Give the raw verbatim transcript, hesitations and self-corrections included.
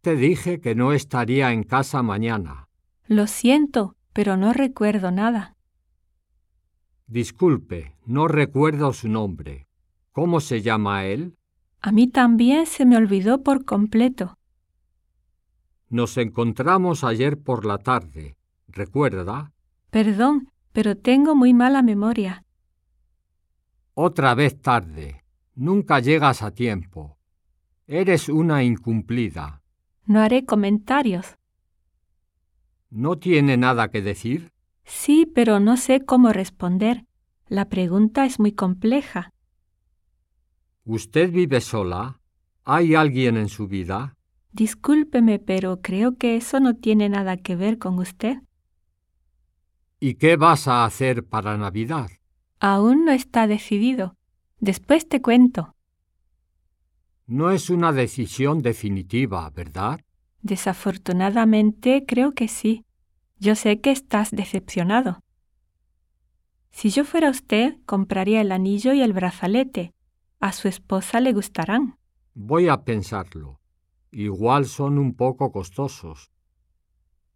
te dije que no estaría en casa mañana. Lo siento, pero no recuerdo nada. Disculpe, no recuerdo su nombre. ¿Cómo se llama él? A mí también se me olvidó por completo. Nos encontramos ayer por la tarde, ¿recuerda? Perdón, pero tengo muy mala memoria. Otra vez tarde. Nunca llegas a tiempo. Eres una incumplida. No haré comentarios. ¿No tiene nada que decir? Sí, pero no sé cómo responder. La pregunta es muy compleja. ¿Usted vive sola? ¿Hay alguien en su vida? Discúlpeme, pero creo que eso no tiene nada que ver con usted. ¿Y qué vas a hacer para Navidad? Aún no está decidido. Después te cuento. No es una decisión definitiva, ¿verdad? Desafortunadamente, creo que sí. Yo sé que estás decepcionado. Si yo fuera usted, compraría el anillo y el brazalete. A su esposa le gustarán. Voy a pensarlo. Igual son un poco costosos.